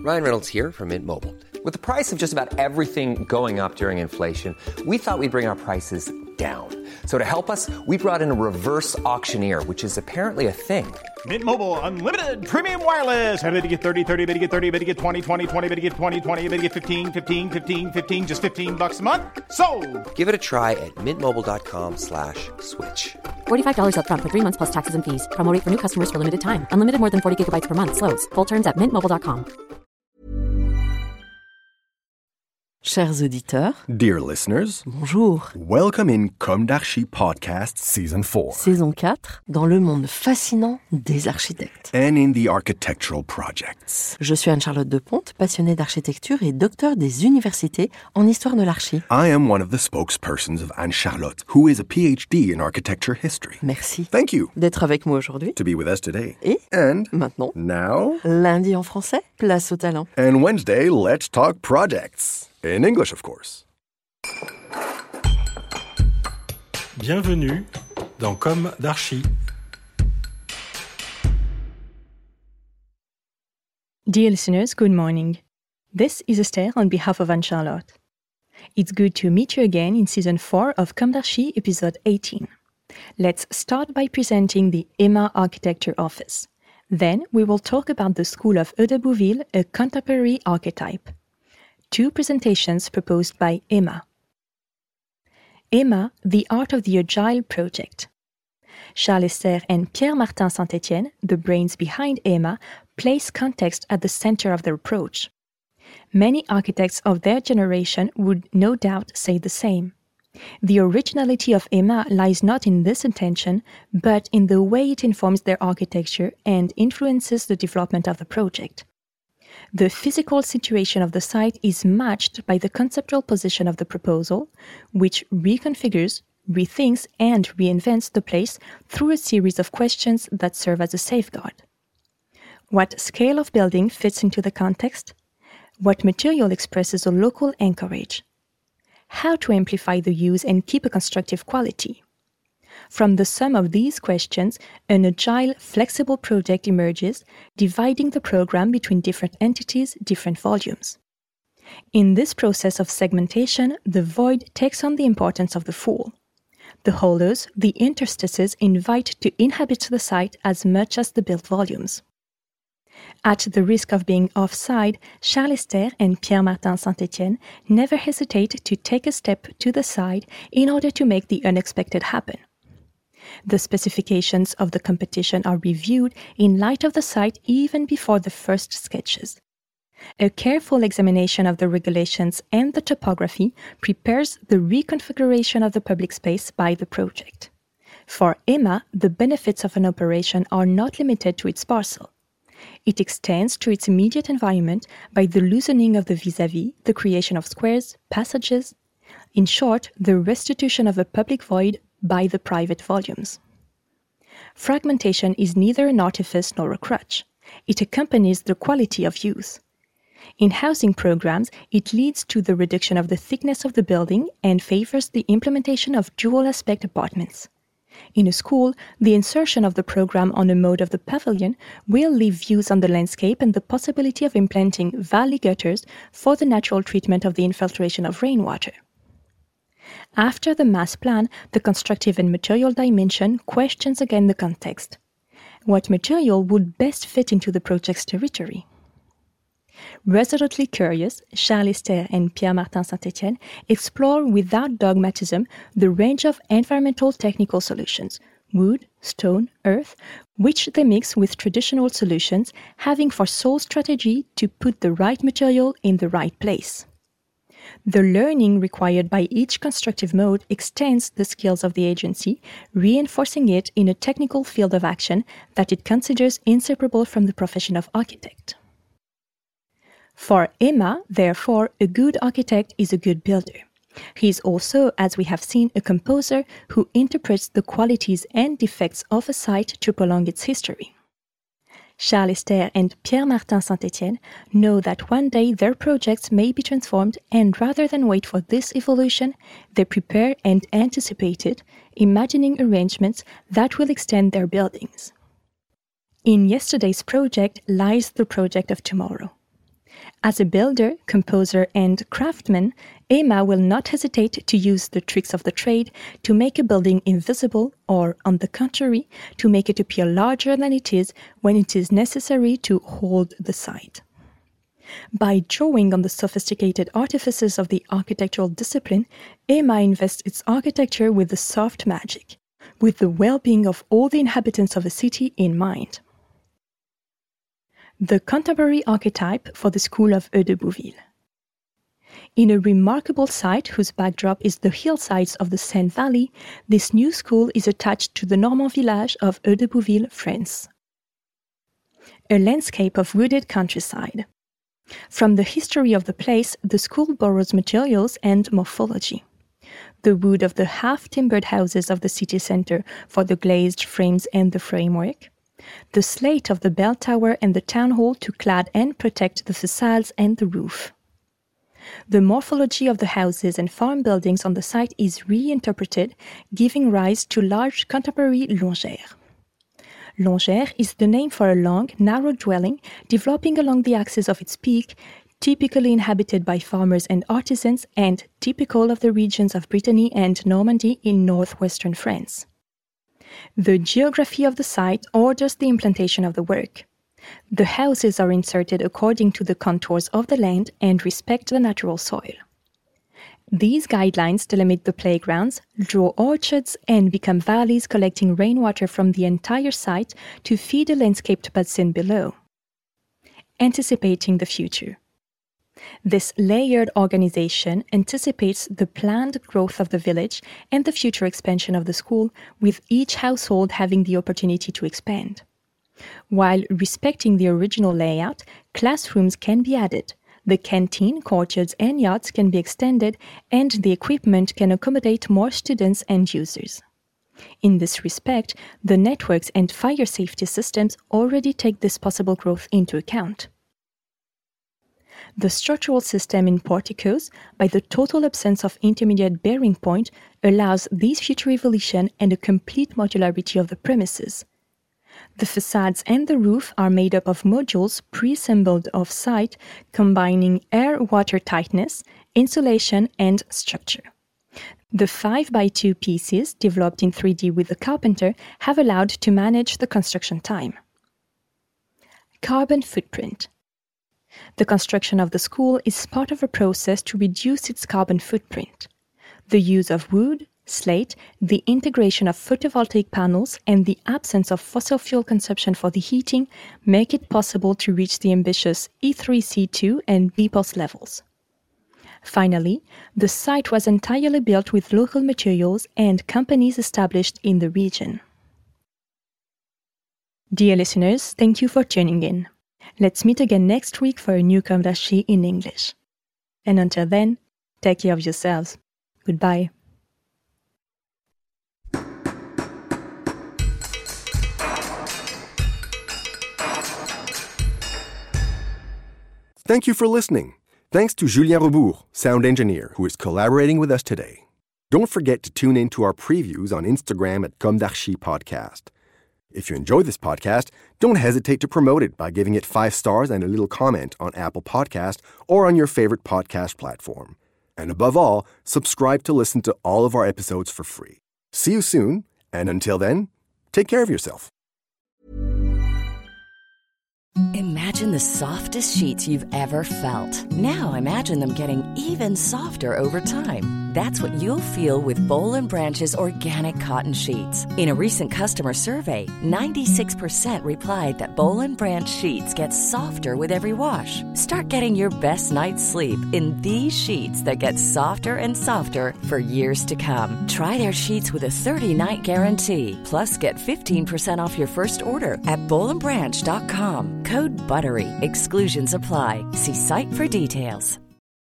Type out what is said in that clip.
Ryan Reynolds here from Mint Mobile. With the price of just about everything going up during inflation, we thought we'd bring our prices down. So to help us, we brought in a reverse auctioneer, which is apparently a thing. Mint Mobile Unlimited Premium Wireless. How to get 30, 30, bit to get 30, bit to get 20, 20, 20, bit to get 20, 20, bit to get 15, 15, 15, 15, just $15 a month? Sold! Give it a try at mintmobile.com/switch. $45 up front for 3 months plus taxes and fees. Promo rate for new customers for limited time. Unlimited more than 40 gigabytes per month. Slows full terms at mintmobile.com. Chers auditeurs, dear listeners, bonjour. Welcome in Comme d'Archi Podcast Season 4. Saison 4, dans le monde fascinant des architectes. And in the architectural projects. Je suis Anne-Charlotte Deponte, passionnée d'architecture et docteur des universités en histoire de l'archi. I am one of the spokespersons of Anne-Charlotte, who is a PhD in architecture history. Merci. Thank you. D'être avec moi aujourd'hui. To be with us today. Et And maintenant, now, lundi en français, place au talent. And Wednesday, let's talk projects. In English, of course. Bienvenue dans Comme d'Archi. Dear listeners, good morning. This is Esther on behalf of Anne-Charlotte. It's good to meet you again in Season 4 of Comme d'Archi, Episode 18. Let's start by presenting the EMA Architecture Office. Then we will talk about the School of Eau-de-Bouville, a contemporary archetype. 2 presentations proposed by EMA. EMA, the Art of the Agile Project. Charles Esther and Pierre-Martin Saint-Étienne, the brains behind EMA, place context at the center of their approach. Many architects of their generation would no doubt say the same. The originality of EMA lies not in this intention, but in the way it informs their architecture and influences the development of the project. The physical situation of the site is matched by the conceptual position of the proposal, which reconfigures, rethinks, and reinvents the place through a series of questions that serve as a safeguard. What scale of building fits into the context? What material expresses a local anchorage? How to amplify the use and keep a constructive quality? From the sum of these questions, an agile, flexible project emerges, dividing the program between different entities, different volumes. In this process of segmentation, the void takes on the importance of the full. The hollows, the interstices, invite to inhabit the site as much as the built volumes. At the risk of being offside, Charles Esther and Pierre-Martin Saint-Étienne never hesitate to take a step to the side in order to make the unexpected happen. The specifications of the competition are reviewed in light of the site even before the first sketches. A careful examination of the regulations and the topography prepares the reconfiguration of the public space by the project. For EMA, the benefits of an operation are not limited to its parcel. It extends to its immediate environment by the loosening of the vis-à-vis, the creation of squares, passages, in short, the restitution of a public void by the private volumes. Fragmentation is neither an artifice nor a crutch. It accompanies the quality of use. In housing programs, it leads to the reduction of the thickness of the building and favors the implementation of dual-aspect apartments. In a school, the insertion of the program on a mode of the pavilion will leave views on the landscape and the possibility of implanting valley gutters for the natural treatment of the infiltration of rainwater. After the mass plan, the constructive and material dimension questions again the context. What material would best fit into the project's territory? Resolutely curious, Charles Esther and Pierre-Martin Saint-Étienne explore without dogmatism the range of environmental technical solutions, wood, stone, earth, which they mix with traditional solutions, having for sole strategy to put the right material in the right place. The learning required by each constructive mode extends the skills of the agency, reinforcing it in a technical field of action that it considers inseparable from the profession of architect. For EMA, therefore, a good architect is a good builder. He is also, as we have seen, a composer who interprets the qualities and defects of a site to prolong its history. Charles Esther and Pierre-Martin Saint-Étienne know that one day their projects may be transformed, and rather than wait for this evolution, they prepare and anticipate it, imagining arrangements that will extend their buildings. In yesterday's project lies the project of tomorrow. As a builder, composer, and craftsman, Emma will not hesitate to use the tricks of the trade to make a building invisible or, on the contrary, to make it appear larger than it is when it is necessary to hold the site. By drawing on the sophisticated artifices of the architectural discipline, Emma invests its architecture with the soft magic, with the well-being of all the inhabitants of a city in mind. The contemporary archetype for the school of Eau-de-Bouville. In a remarkable site whose backdrop is the hillsides of the Seine Valley, this new school is attached to the Normand village of Eau-de-Bouville, France. A landscape of wooded countryside. From the history of the place, the school borrows materials and morphology. The wood of the half-timbered houses of the city center for the glazed frames and the framework. The slate of the bell tower and the town hall to clad and protect the facades and the roof. The morphology of the houses and farm buildings on the site is reinterpreted, giving rise to large contemporary longères. Longère is the name for a long, narrow dwelling developing along the axis of its peak, typically inhabited by farmers and artisans and typical of the regions of Brittany and Normandy in northwestern France. The geography of the site orders the implantation of the work. The houses are inserted according to the contours of the land and respect the natural soil. These guidelines delimit the playgrounds, draw orchards, and become valleys collecting rainwater from the entire site to feed a landscaped basin below. Anticipating the future. This layered organization anticipates the planned growth of the village and the future expansion of the school, with each household having the opportunity to expand. While respecting the original layout, classrooms can be added, the canteen, courtyards, and yachts can be extended, and the equipment can accommodate more students and users. In this respect, the networks and fire safety systems already take this possible growth into account. The structural system in porticos, by the total absence of intermediate bearing point, allows this future evolution and a complete modularity of the premises. The facades and the roof are made up of modules pre-assembled off-site, combining air-water tightness, insulation, and structure. The 5x2 pieces, developed in 3D with the carpenter, have allowed to manage the construction time. Carbon footprint. The construction of the school is part of a process to reduce its carbon footprint. The use of wood, slate, the integration of photovoltaic panels, and the absence of fossil fuel consumption for the heating make it possible to reach the ambitious E3C2 and BPOS levels. Finally, the site was entirely built with local materials and companies established in the region. Dear listeners, thank you for tuning in. Let's meet again next week for a new Comme d'Archi in English. And until then, take care of yourselves. Goodbye. Thank you for listening. Thanks to Julien Rebourg, sound engineer, who is collaborating with us today. Don't forget to tune in to our previews on Instagram at Comme d'Archi Podcast. If you enjoy this podcast, don't hesitate to promote it by giving it 5 stars and a little comment on Apple Podcast or on your favorite podcast platform. And above all, subscribe to listen to all of our episodes for free. See you soon, and until then, take care of yourself. Imagine the softest sheets you've ever felt. Now imagine them getting even softer over time. That's what you'll feel with Boll & Branch's organic cotton sheets. In a recent customer survey, 96% replied that Boll & Branch sheets get softer with every wash. Start getting your best night's sleep in these sheets that get softer and softer for years to come. Try their sheets with a 30-night guarantee. Plus, get 15% off your first order at bollandbranch.com. Code BUTTERY. Exclusions apply. See site for details.